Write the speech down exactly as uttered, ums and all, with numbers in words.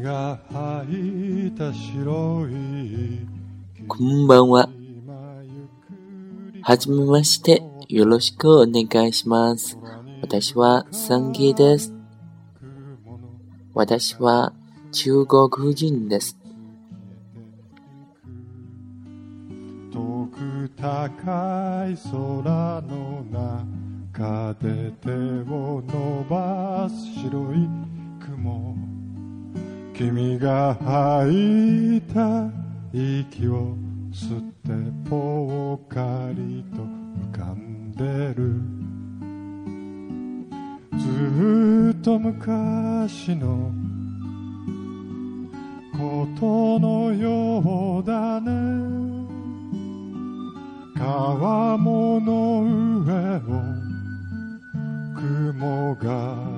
が吐いた白いこんばんは。はじめまして、よろしくお願いします。私はサンギです。私は中国人です。 遠く高い空の中で手を伸ばす白い雲、君が吐いた息を吸ってぽっかりと浮かんでる。ずっと昔のことのようだね。川面の上を雲が